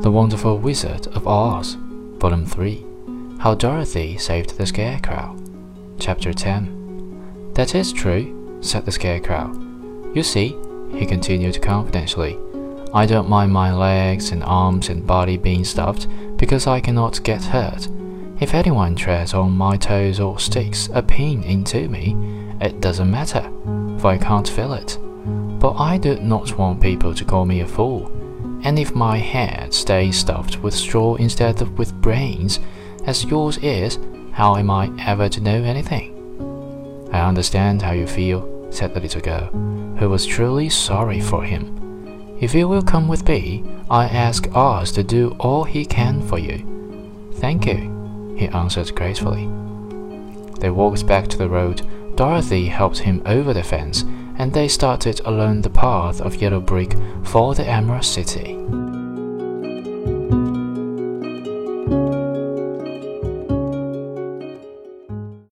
The Wonderful Wizard of Oz, Volume 3, How Dorothy Saved the Scarecrow, Chapter 10. "That is true," said the Scarecrow. "You see," he continued confidentially, "I don't mind my legs and arms and body being stuffed because I cannot get hurt. If anyone treads on my toes or sticks a pin into me, it doesn't matter, for I can't feel it. But I do not want people to call me a fool. And if my head stays stuffed with straw instead of with brains, as yours is, how am I ever to know anything?" "I understand how you feel," said the little girl, who was truly sorry for him. "If you will come with me, I ask Oz to do all he can for you." "Thank you," he answered gracefully. They walked back to the road. Dorothy helped him over the fence, and they started along the path of yellow brick for the Emerald City.